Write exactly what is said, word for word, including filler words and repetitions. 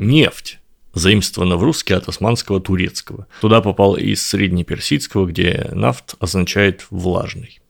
нефть, заимствовано в русский от османского турецкого. Туда попал из среднеперсидского, где нафт означает влажный.